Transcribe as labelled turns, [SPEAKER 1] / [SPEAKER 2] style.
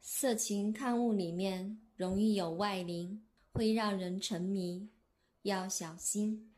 [SPEAKER 1] 色情刊物里面容易有外灵，会让人沉迷，要小心。